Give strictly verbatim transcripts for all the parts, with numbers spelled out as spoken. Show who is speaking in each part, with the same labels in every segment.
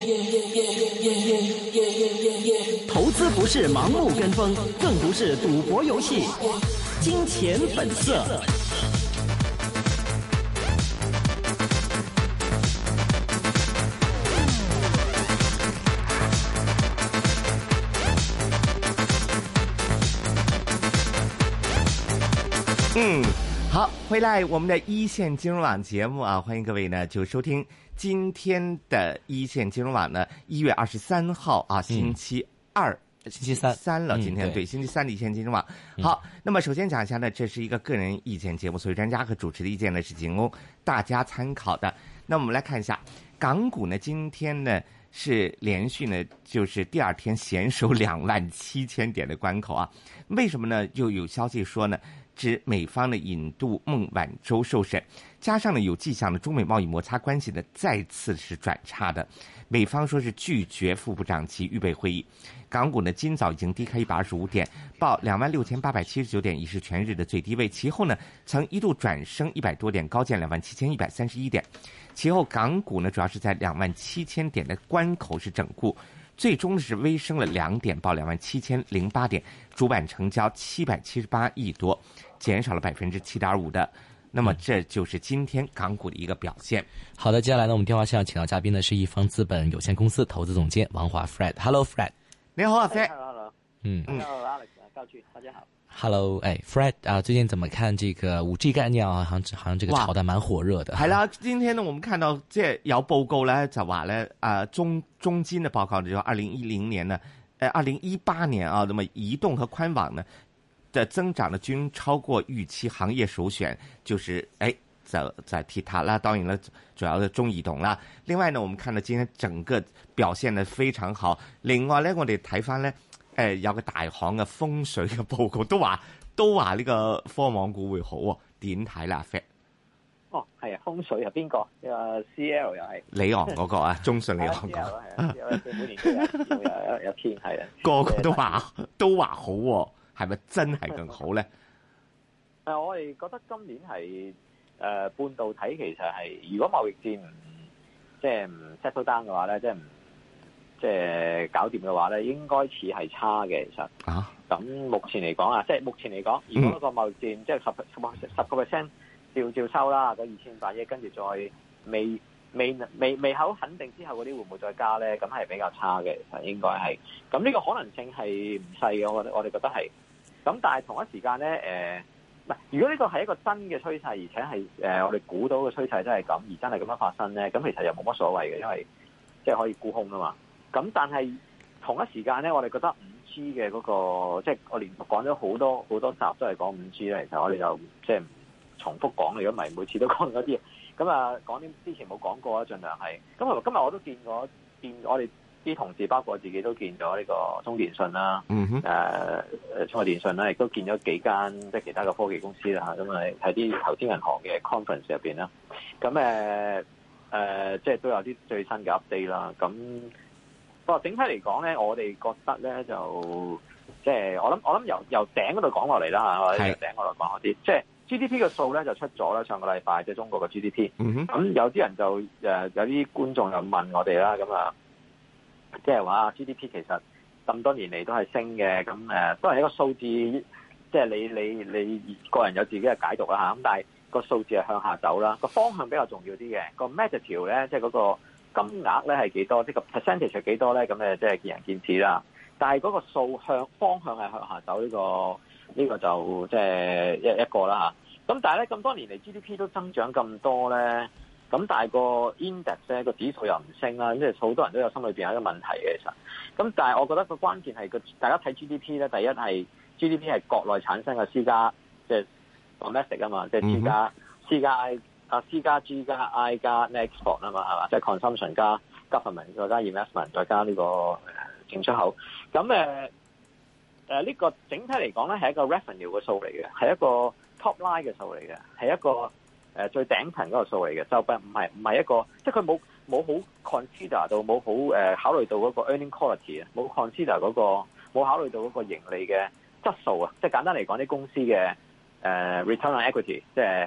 Speaker 1: 投资不是盲目跟风，更不是赌博游戏。金钱本色。
Speaker 2: 嗯，好，回来我们的一线金融网节目啊，欢迎各位呢就收听今天的一线金融网呢，一月二十三号啊，星期二。
Speaker 3: 嗯、星期三
Speaker 2: 三了，
Speaker 3: 嗯、
Speaker 2: 今天、
Speaker 3: 对,
Speaker 2: 对星期三的一线金融网。好，那么首先讲一下呢，这是一个个人意见节目，所以专家和主持的意见呢是仅供大家参考的。那我们来看一下港股呢，今天呢是连续呢就是第二天险守两万七千点的关口啊。为什么呢？又有消息说呢，指美方的引渡孟晚舟受审，加上呢有迹象的中美贸易摩擦关系呢再次是转差的。美方说是拒绝副部长级预备会议，港股呢今早已经低开一百二十五点，报两万六千八百七十九点，已是全日的最低位。其后呢曾一度转升一百多点，高见两万七千一百三十一点。其后港股呢主要是在两万七千点的关口是整固，最终是微升了两点，报两万七千零八点，主板成交七百七十八亿多，减少了百分之七点五的。那么这就是今天港股的一个表现。
Speaker 3: 好的，接下来呢，我们电话线上请到嘉宾呢是易方资本有限公司投资总监王华 Fred。Hello Fred。
Speaker 2: 你好啊 Fred。
Speaker 4: Hello。
Speaker 3: 嗯。
Speaker 4: Hello Alex，高俊，大家好。
Speaker 3: Hello， 哎 ，Fred 啊，最近怎么看这個五 G 概念啊？好像好像這個炒得蠻火熱的。
Speaker 2: 係啦，今天呢，我們看到即係有報告咧，就話咧，啊中中金的報告就二零一零年呢，誒二零一八年啊，那麼移動和寬網呢的增長呢均超過預期，行業首選就是誒就在提它啦，當然啦，主要的中移動啦。另外呢，我們看到今天整個表現呢非常好。另外咧，我哋睇翻咧。誒有個大行嘅風水嘅報告都話都話呢個科網股會好喎，點睇啦 Fred？
Speaker 4: 哦，係啊，風水係邊個？誒 C L 又係
Speaker 2: 里昂嗰個啊，中信里昂嗰個，
Speaker 4: 係啊，每年都有有有有天係啊，
Speaker 2: 個個都話都話好喎，係咪真係更好咧？
Speaker 4: 誒，我哋覺得今年係誒、呃、半導體其實係，如果貿易戰唔即係唔 settle down 嘅話咧，即係唔。即係搞掂嘅話咧，應該似係差嘅。其實啊，咁目前嚟講啊，即係目前嚟講，如果個貿易戰、嗯、即係十十個 percent 照照收啦，嗰二千八億，跟住再未未未未好肯定之後嗰啲會唔會再加咧？咁係比較差嘅，其實應該係。咁呢個可能性係唔細嘅，我我哋覺得係。咁但係同一時間咧，誒、呃，唔係如果呢個係一個真嘅趨勢，而且係誒、呃、我哋估到嘅趨勢真係咁，而真係咁樣發生咧，咁其實又冇乜所謂嘅，因為即係可以沽空啊嘛。咁但係同一時間咧，我哋覺得五 G 嘅嗰個，即係我連續講咗好多好多集都係講五 G 咧。其實我哋就即係唔重複講，如果唔係每次都講嗰啲嘢。咁啊，講啲之前冇講過啊，盡量係。咁今日我都見過，見我哋啲同事，包括我自己都見咗呢個中電信啦，
Speaker 2: 嗯哼，
Speaker 4: 誒中國電信啦，亦都見咗幾間即係其他嘅科技公司啦嚇。咁啊喺啲投資銀行嘅 conference 入邊啦，咁誒誒即係都有啲最新嘅 update 啦，咁。不過整體嚟講咧，我哋覺得咧就即係我諗我諗由由頂嗰度講落嚟啦嚇，或者由頂嗰度講一啲，即係 G D P 嘅數咧就出咗啦，上個禮拜即係中國嘅 G D P。咁、嗯、有啲人就誒有啲觀眾又問我哋啦，咁啊即係話 G D P 其實咁多年嚟都係升嘅，咁誒當然一個數字，即係你你你個人有自己嘅解讀啦嚇，咁但係個數字係向下走啦，個方向比較重要啲嘅，個 magnitude 咧即係嗰個。金額咧係幾多？即係個 percentage 係幾多咧？咁誒即係見仁見智啦。但係嗰個數向方向係向下走，呢、這個呢、這個就即係一一個啦嚇。咁但係咧咁多年嚟 G D P 都增長咁多咧，咁但係個 index 咧個指數又唔升啦，即係好多人都有心裏邊有一個問題嘅其實。咁但係我覺得個關鍵係個大家睇 G D P 咧，第一係 G D P 係國內產生嘅私家即係 domestic 啊嘛，即係私家私家 I。啊 C 加 G 加 I 加 export 啊嘛，係嘛？即係 consumption 加 government 再加 investment 再加呢個進出口。咁誒誒呢個整體嚟講咧係一個 revenue 嘅數嚟嘅，係一個 top line 嘅數嚟嘅，係一個誒、呃、最頂層嗰個數嚟嘅，就唔唔係唔係一個，即係佢冇冇好 consider 到冇好誒考慮到嗰個 earning quality 啊，冇 consider 嗰個冇考慮到嗰個盈利嘅質素啊，即係簡單嚟講啲公司嘅誒、呃、return on equity 即係。誒、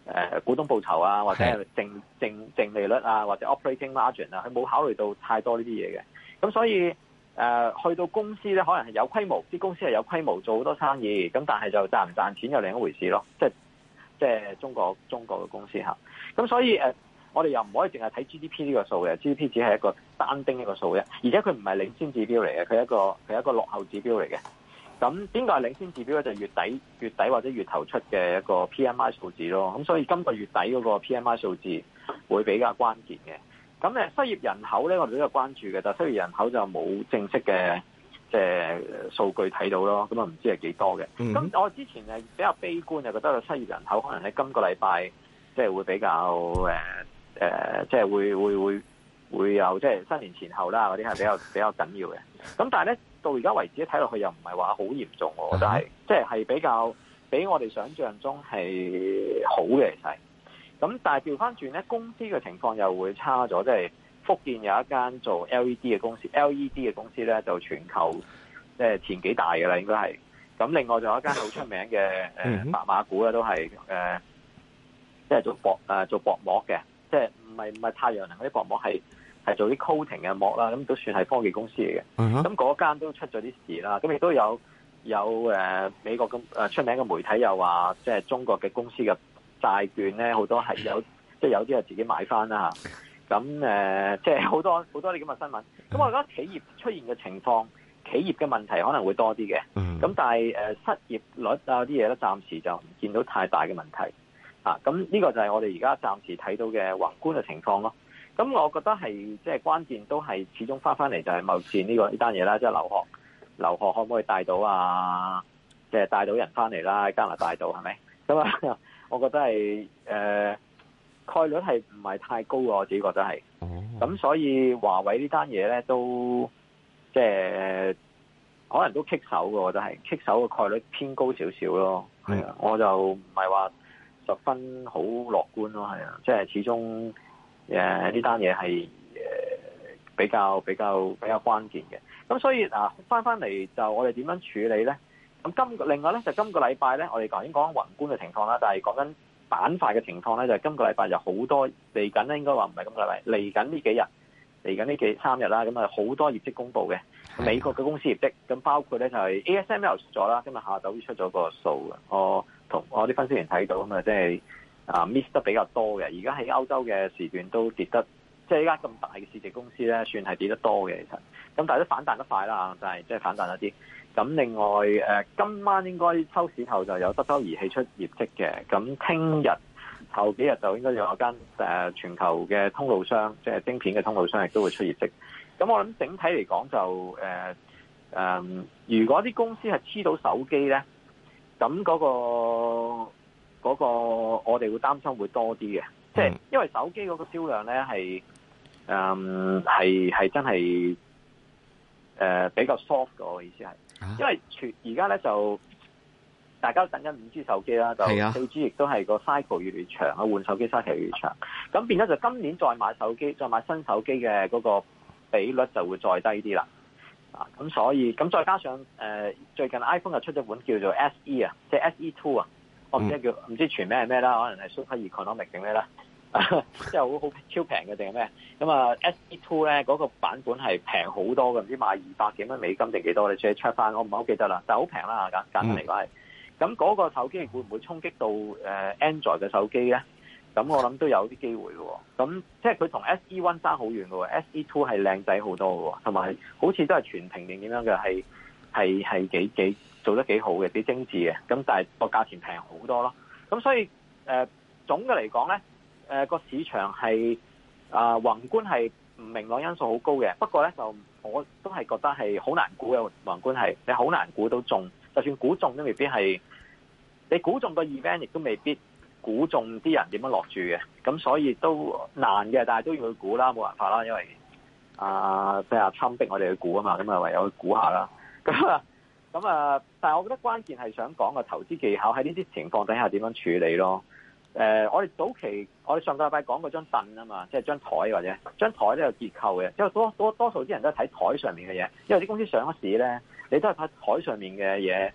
Speaker 4: 誒股東報酬啊，或者係淨淨淨利率啊，或者 operating margin 啊，佢冇考慮到太多呢啲嘢嘅。咁所以誒、呃、去到公司咧，可能係有規模，啲公司係有規模做好多生意，咁但係就賺唔賺錢又另一回事咯。即係即係中國中國嘅公司嚇。咁所以誒、呃，我哋又唔可以淨係睇 G D P 呢個數嘅 ，G D P 只係一個單丁一個數嘅，而且佢唔係領先指標嚟嘅，佢係一個佢係一個落後指標嚟嘅。咁邊個係領先指標咧？就係、月底月底或者月頭出嘅一個 P M I 數字咯。咁所以今個月底嗰個 P M I 數字會比較關鍵嘅。咁誒失業人口咧，我哋都有關注嘅，但係失業人口就冇正式嘅即係數據睇到咯。咁啊唔知係幾多嘅。咁、嗯、我之前誒比較悲觀，就覺得個失業人口可能喺今個禮拜即係會比較誒誒，即係會會會會有即係新年前後啦嗰啲係比較比較緊要嘅。咁但係咧。到而家為止睇落去又唔係話好嚴重，我覺得係即係係比較比我哋想象中係好嘅，其實。咁但係調翻轉咧，公司嘅情況又會差咗，即係福建有一間做 L E D 嘅公司 ，L E D 嘅公司咧就全球即係前幾大嘅啦，應該係。咁另外仲有一間好出名嘅誒白馬股咧，都係誒即係做薄誒做薄膜嘅，即係唔係唔係太陽能嗰啲薄膜係。係做啲 coating 嘅膜啦，咁都算係科技公司嚟嘅。咁嗰間都出咗啲事啦，咁亦都有有誒、呃、美國咁誒出名嘅媒體又話，即係中國嘅公司嘅債券咧，好多係有即係有啲係自己買翻啦嚇。咁誒即係好多好多啲咁嘅新聞。咁我覺得企業出現嘅情況，企業嘅問題可能會多啲嘅。咁但係誒失業率啊啲嘢咧，暫時就唔見到太大嘅問題。啊，咁呢個就係我哋而家暫時睇到嘅宏觀嘅情況咯。咁我覺得係即係關鍵都係始終翻翻嚟就係貿易戰呢個呢單嘢啦，即係留學留學可唔可以帶到啊？即係帶到人翻嚟啦，加拿大度係咪？咁啊，我覺得係誒、呃、概率係唔係太高嘅，我自己覺得係。咁所以華為呢單嘢咧都即係可能都棘手嘅，我覺得係棘手嘅概率偏高少少咯。係啊，我就唔係話十分好樂觀咯。係啊，即係始終。誒呢單嘢係誒比較比較比較關鍵嘅，咁所以嗱翻翻嚟就我哋點樣處理咧？咁今個另外咧就今個禮拜咧，我哋頭先講緊宏觀嘅情況啦，但係講緊板塊嘅情況咧，就係、是、今個禮拜有好多嚟緊咧，應該話唔係今個禮拜嚟緊呢幾日嚟緊呢幾三日啦，咁啊好多業績公布嘅美國嘅公司業績，咁包括咧就係 A S M L 出咗啦，今日下晝出咗個數嘅，我同我啲分析員睇到咁啊，即係。啊 miss 得比較多嘅，而家喺歐洲嘅時段都跌得，即係依家咁大嘅市值公司咧，算係跌得多嘅其實。咁但係都反彈得快啦，就係即係反彈一啲。咁另外誒、呃，今晚應該收市後就有德州儀器出業績嘅。咁聽日後幾日就應該有間誒、呃、全球嘅通路商，即係晶片嘅通路商亦都會出業績。咁我諗整體嚟講就誒誒、呃呃，如果啲公司係黐到手機咧，咁嗰、那個。嗰、那個我哋會擔心會多啲嘅，即係因為手機嗰個銷量咧係誒係係真係誒、呃、比較 soft 嘅，我意思係，因為全而家咧就大家都等緊五 G 手機啦，就四 G 亦都係個 cycle 越嚟越長啊，換手機 cycle 越嚟越長，咁變咗就今年再買手機，再買新手機嘅嗰個比率就會再低啲啦，啊咁所以咁再加上誒、呃、最近 iPhone 又出咗本叫做 S E 啊，即係 S E Two 啊。我唔知叫唔知全名係咩啦，可能係 Super Economic 定咩啦，即係好好超平嘅定係咩？咁啊 S E Two 咧嗰個版本係平好多嘅，唔知賣二百幾蚊美金定幾多？你再 check 翻，我唔係好記得啦，但係好平啦，簡簡單嚟講係。咁嗰個手機會唔會衝擊到誒 Android 嘅手機咧？咁我諗都有啲機會嘅。咁即係佢同 S E One 爭好遠嘅喎 ，S E Two 係靚仔好多嘅，同埋好似都係全屏定點樣嘅，係係係幾幾。做得幾好嘅，幾精緻嘅，咁但係個價錢平好多咯。咁所以誒、呃、總嘅嚟講咧，誒、呃、個市場係啊、呃、宏觀係唔明朗因素好高嘅。不過咧就我都係覺得係好難估嘅，宏觀係你好難估到中，就算估中都未必係你估中個 event，亦都未必估中啲人點樣落住嘅。咁所以都難嘅，但係都要去估啦，冇辦法啦，因為啊即係阿川逼我哋去估啊嘛，咁啊唯有去估下啦。咁啊〜咁啊！但係我覺得關鍵係想講個投資技巧喺呢啲情況底下點樣處理咯。誒、呃，我哋早期我哋上個禮拜講過張凳啊嘛，即係張台或者張台都有結構嘅，因為多多多數啲人都係睇台上面嘅嘢，因為啲公司上咗市咧，你都係睇台上面嘅嘢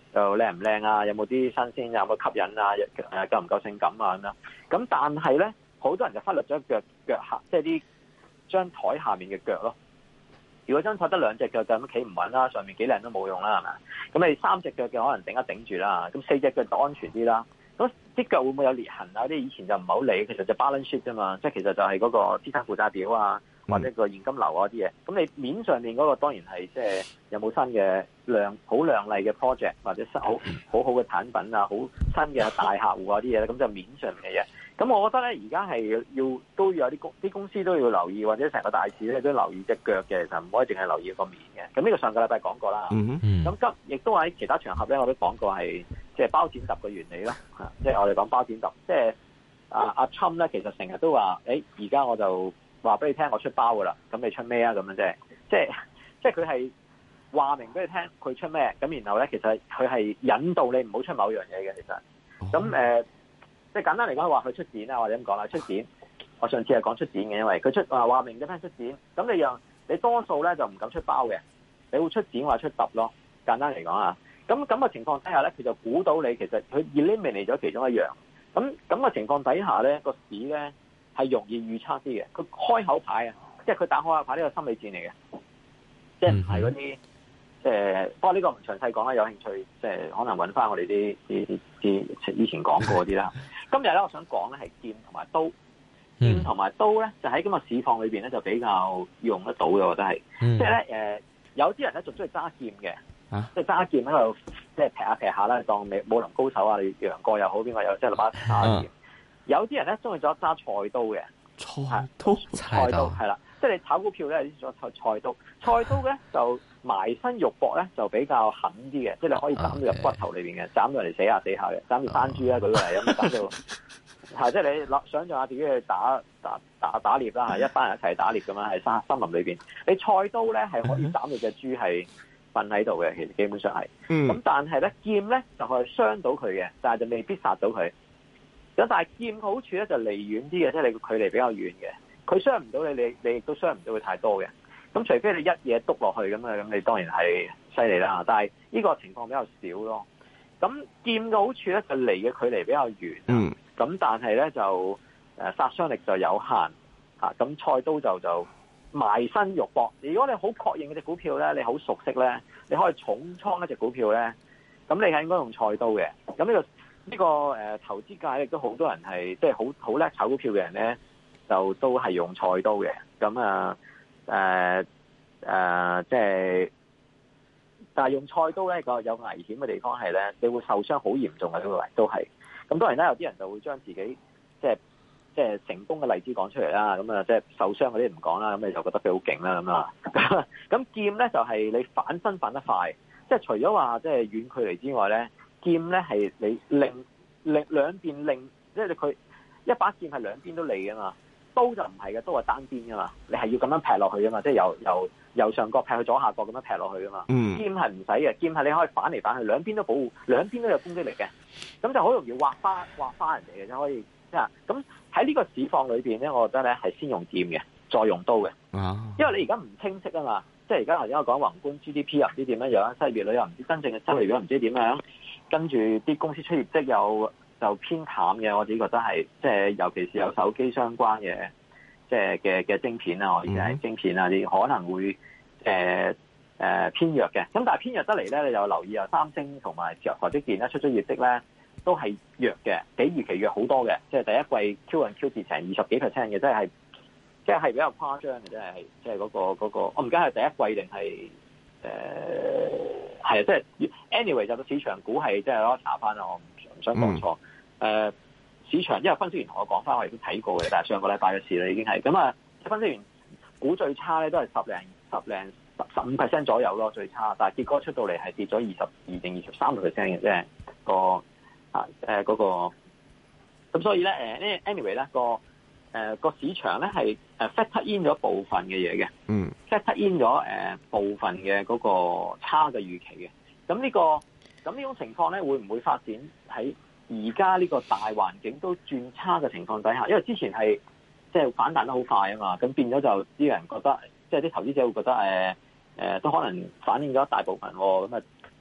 Speaker 4: 又靚唔靚啊？有冇啲新鮮？有冇吸引啊？誒夠唔夠性感啊？咁樣咁，但係咧，好多人就忽略咗腳腳下，即係啲張台下面嘅腳咯。如果張台得兩隻腳咁企唔穩啦，上面幾靚都冇用啦，係咪？咁你三隻腳嘅可能頂一頂住啦，咁四隻腳就安全啲啦。咁啲腳會唔會有裂痕啊？啲以前就唔係好理，其實就 balance sheet 啫嘛，即係其實就係嗰個資產負債表啊，或者個現金流啊啲嘢。咁你面上面嗰個當然係即係有冇新嘅亮好亮麗嘅 project 或者好好好嘅產品啊，好新嘅大客戶啊啲嘢咧，咁就面上面嘅嘢。咁我覺得咧，而家係要都要有啲公啲公司都要留意，或者成個大市咧都留意隻腳嘅，其實唔可以淨係留意個面嘅。咁呢個上個禮拜講過啦。咁、嗯、今亦都喺其他場合咧，我都講過係即係包剪揼嘅原理咯。即係我哋講包剪揼，即係阿阿 Trump 咧，其實成日都話，誒而家我就話俾你聽，我出包噶啦，咁你出咩啊？咁樣啫，即係即係佢係話明俾你聽，佢出咩？咁然後咧，其實佢係引導你唔好出某樣嘢嘅。其實咁誒。呃即係簡單嚟講，話佢出展啊，或者咁講啦，出展。我上次係講出展嘅，因為佢出話話明咗聽出展，咁你讓你多數咧就唔敢出包嘅，你會出展或者出揼咯。簡單嚟講啊，咁咁嘅情況底下咧，佢就估到你其實佢 eliminate 咗其中一樣。咁咁嘅情況底下咧，個市咧係容易預測啲嘅。佢開口牌啊，即係佢打開口牌呢個心理戰嚟嘅，即係唔係嗰啲。即係，不過呢個唔詳細講啦，有興趣即係可能揾翻我哋啲啲啲以前講過啲啦。今日咧，我想講咧係劍同埋刀，劍同埋刀咧就喺今日市況裏邊咧就比較用得到嘅，我覺得係。嗯、即係咧誒，有啲人咧仲中意揸劍嘅，啊、即係揸劍喺度即係劈下劈下啦，當武林高手啊，你楊過又好，邊個又即係攞把叉劍。啊、有啲人咧中意咗揸菜刀嘅，
Speaker 3: 菜刀
Speaker 4: 菜刀係啦，即係你炒股票咧，啲咗菜菜刀，菜刀咧就。埋身肉搏咧就比較狠啲嘅，即係你可以斬到入骨頭裏邊嘅，斬到人哋死下死下嘅，斬到山豬啦，舉個例咁斬到，係即係你諗想象下自己去打打打打獵啦，係一班人一齊打獵咁樣喺山森林裏邊，你菜刀咧係可以斬到隻豬係瞓喺度嘅，其實基本上係，咁、嗯、但係咧劍咧就係傷到佢嘅，但係就未必殺到佢。咁但係劍嘅好處咧就離遠啲嘅，即係你個距離比較遠嘅，佢傷唔到你，你你亦都傷唔到佢太多嘅。咁除非你一嘢篤落去咁啊，咁你當然係犀利啦。但係呢個情況比較少咯。咁劍嘅好處咧就離嘅距離比較遠，嗯。咁但係咧就誒殺傷力就有限嚇。咁菜刀就就埋身肉搏。如果你好確認嗰隻股票咧，你好熟悉咧，你可以重倉一隻股票咧，咁你係應該用菜刀嘅。咁呢個呢個誒投資界亦都好多人係即係好好叻炒股票嘅人咧，就都係用菜刀嘅。咁啊〜誒誒、呃呃，即係，但係用菜刀咧個有危險嘅地方係咧，你會受傷好嚴重嘅呢個位都係。咁當然啦，有啲人就會將自己即係即係成功嘅例子講出嚟啦。咁啊，即係受傷嗰啲唔講啦。咁你就覺得佢好勁啦咁啊。咁劍咧就係、是、你反身反得快，即係除咗話即係遠距離之外咧，劍咧係你擰擰兩邊擰，即係佢一把劍係兩邊都利㗎嘛。刀就唔係嘅，刀係單邊噶嘛，你係要咁樣劈落去噶嘛，即係由由右上角劈去左下角咁樣劈落去噶嘛。嗯、劍係唔使嘅，劍係你可以反嚟反去，兩邊都保護，兩邊都有攻擊力嘅，咁就好容易劃花劃花人哋嘅，就可以即係咁喺呢個市況裏邊咧，我覺得咧係先用劍嘅，再用刀嘅。啊、因為你而家唔清晰啊嘛，即係而家頭先我講宏觀 G D P 又唔知點樣樣，西別旅又唔知真正嘅收益率唔知點樣，跟住啲公司出業績又。就偏淡嘅，我自己覺得係即係，尤其是有手機相關嘅，即係嘅嘅晶片啊，或者係晶片啊，啲可能會誒誒、呃呃、偏弱嘅。咁但係偏弱得嚟咧，你就留意啊，三星同埋台積電咧出咗業績咧，都係弱嘅，比預期弱好多嘅。即係第一季 Q on Q 跌成二十幾 percent 嘅，即係即係係比較誇張嘅，即係即係嗰個嗰、嗰個，我唔記得係第一季定係誒係啊，即係 anyway 就個市場股係即係攞查翻啦，我唔唔想講錯。嗯誒、呃、市場，因為分析員同我講翻，我亦都睇過嘅，但係上個禮拜嘅事啦，已經係咁啊。分析員估最差咧都係十零十零十十五 percent 左右咯，最差。但係結果出到嚟係跌咗二十二定二十三個 percent 嘅，即係個啊誒嗰個。咁所以咧誒呢 anyway 咧個誒個市場咧係誒 factor in 咗部分嘅嘢嘅，嗯 factor in 咗誒、呃、部分嘅嗰個差嘅預期嘅。咁呢、這個咁呢種情況咧會唔會發展喺而家呢個大環境都轉差嘅情況底下，因為之前係即係反彈得好快啊嘛，咁變咗就啲人覺得，即係啲投資者會覺得誒誒、呃、都可能反映咗一大部分喎，咁啊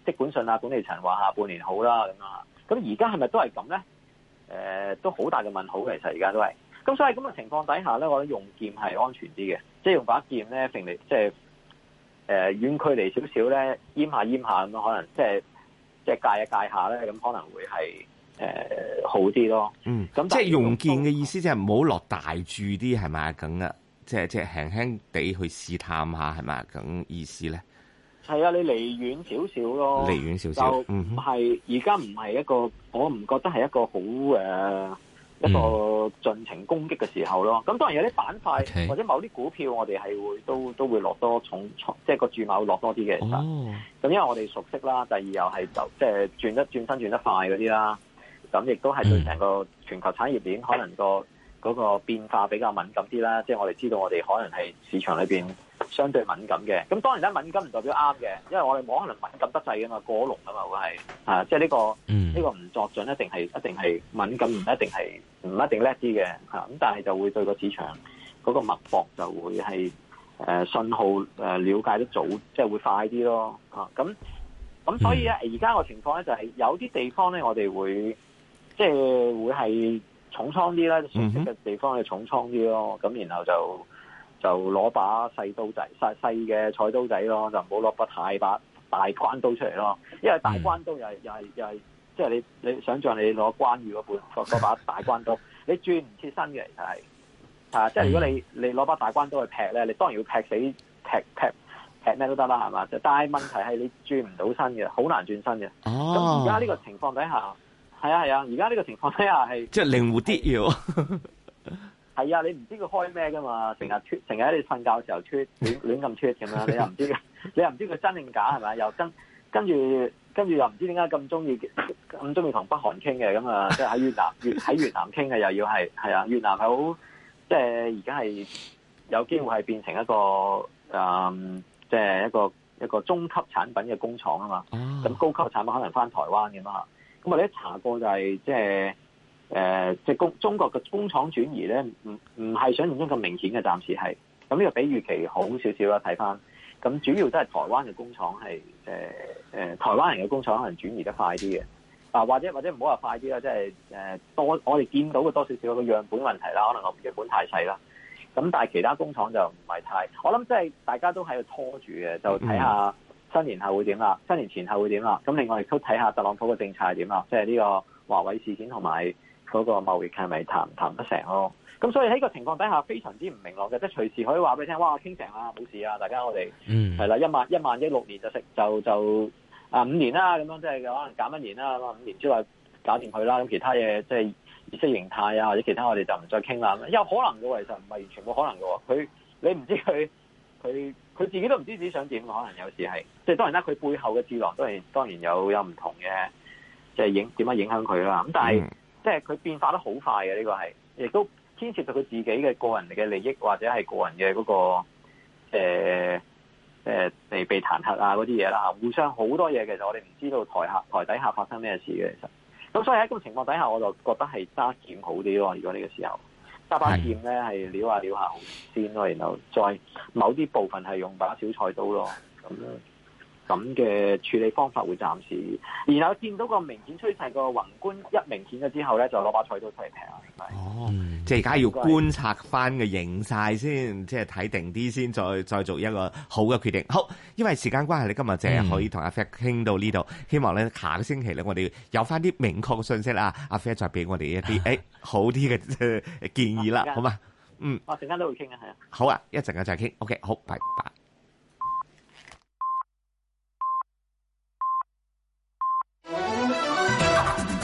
Speaker 4: 即管信啊管理層話下半年好啦咁啊，咁而家係咪都係咁咧？誒、呃，都好大嘅問號，其實而家都係。咁所以咁嘅情況底下咧，我覺得用劍係安全啲嘅，即係用把劍咧，揈嚟即係誒遠距離少少咧，閹下閹下咁樣，可能即係即係戒一戒下咧，咁可能會係。誒、呃，好啲咯。嗯，咁
Speaker 2: 即係用劍嘅意思，即係唔好落大注啲，係咪咁啊？即係即係輕輕地去試探下，係咪咁意思咧？
Speaker 4: 係啊，你離遠少少咯，
Speaker 2: 離遠少少，
Speaker 4: 就唔係而家唔係一個，我唔覺得係一個好誒、呃、一個盡情攻擊嘅時候咯。咁、嗯、當然有啲板塊、okay. 或者某啲股票，我哋係會都都會落多重重，即係個注碼會落多啲嘅。其實，咁因為我哋熟悉啦，第二又係就即係轉得轉身轉得快嗰啲啦。咁亦都係對成個全球產業鏈可能個嗰個變化比較敏感啲啦，即係我哋知道我哋可能係市場裏邊相對敏感嘅。咁當然咧，敏感唔代表啱嘅，因為我哋冇可能敏感得滯噶嘛，過龍啊嘛會係啊，即係呢個呢個唔作準，一定係一定係敏感，唔一定係唔一定叻啲嘅嚇。咁但係就會對個市場嗰個脈搏就會係誒信號誒瞭解得早，即係會快啲咯嚇。咁咁所以咧，而家個情況咧就係有啲地方咧，我哋會。即係會係重倉啲啦，熟悉嘅地方係重倉啲咯。咁、mm-hmm. 然後就就攞把細刀仔、細細嘅菜刀仔咯，就唔好攞把太把大關刀出嚟咯。因為大關刀又係又係又係，即係你你想象你攞關羽嗰本嗰把大關刀，你轉唔切身嘅，其實係啊。即係如果你你攞把大關刀去劈咧，你當然要劈死劈劈劈咩都得啦，係嘛？但係問題係你轉唔到身嘅，好難轉身嘅。咁而家呢個情況底下。係啊係啊，而家呢個情況底下係
Speaker 2: 即係靈活啲要。
Speaker 4: 係啊，你唔知佢開咩噶嘛？成日脫，成日喺你瞓覺嘅時候脫，亂亂咁脫咁樣，你又唔知，你又唔知佢真定假係咪？又跟跟住跟住又唔知點解咁中意咁中意同北韓傾嘅咁啊？即係喺越南越喺越南傾嘅，又要係係啊，越南係好即係而家係有機會係變成一個誒，即、嗯、係、就是、一個一個中級產品嘅工廠啊嘛。咁高級產品可能翻台灣嘅嘛。咁我哋一查過就係即係誒，即係工中國嘅工廠轉移咧，唔唔係想象中咁明顯嘅，暫時係。咁呢個比預期好少少啦，睇翻。咁主要都係台灣嘅工廠係誒誒，台灣人嘅工廠可能轉移得快啲嘅。啊，或者或者唔好話快啲啦，即係誒多我哋見到嘅多少少個樣本問題啦，可能個樣本太細啦。咁但係其他工廠就唔係太，我諗即係大家都喺度拖住嘅，就睇下。新年後會點啦？新年前後會點啦？咁另外亦都睇下特朗普嘅政策係點啦，即係呢個華為事件同埋嗰個貿易係咪談唔談得成咯？咁所以喺呢個情況底下非常之唔明朗嘅，即係隨時可以話俾你聽，哇傾成啦，冇事啊，大家我哋係啦，一萬一萬億六年就食就就啊五年啦，咁樣即係可能減一年啦，咁啊五年之後搞掂佢啦，咁其他嘢即係意識形態啊或者其他我哋就唔再傾啦。有可能嘅，其實唔係完全冇可能嘅。佢你唔知佢佢。佢自己都唔知自己想點，可能有時係，即係當然啦。佢背後嘅智囊都係當然有有唔同嘅，即係影點樣影響佢啦。咁但係、嗯、即係佢變化得好快嘅，呢、這個係，亦都牽涉到佢自己嘅個人嘅利益或者係個人嘅嗰、那個誒誒被被彈劾啊嗰啲嘢啦。互相好多嘢，其實我哋唔知道台下台底下發生咩事嘅，其實。咁所以喺咁情況底下，我就覺得係揸劍好啲咯。如果呢個時候。揸把劍咧係撩下撩下先咯，然後再某啲部分係用把小菜刀咯，咁咁嘅處理方法會暫時，然後見到個明顯趨勢個宏觀一明顯咗之後咧，就攞把菜刀出嚟劈啊！
Speaker 2: 哦，嗯、即係而家要觀察翻個形勢先，即係睇定啲先，再再做一個好嘅決定。好，因為時間關係，你今日淨係可以同阿 Fred 傾到呢度、嗯。希望咧下個星期咧，我哋有翻啲明確嘅信息啦。阿 Fred 再俾我哋一啲誒、哎、好啲嘅建議啦，好嘛？嗯，
Speaker 4: 我陣間都會傾啊，係啊。
Speaker 2: 好啊，一陣間再傾。OK，好，拜拜。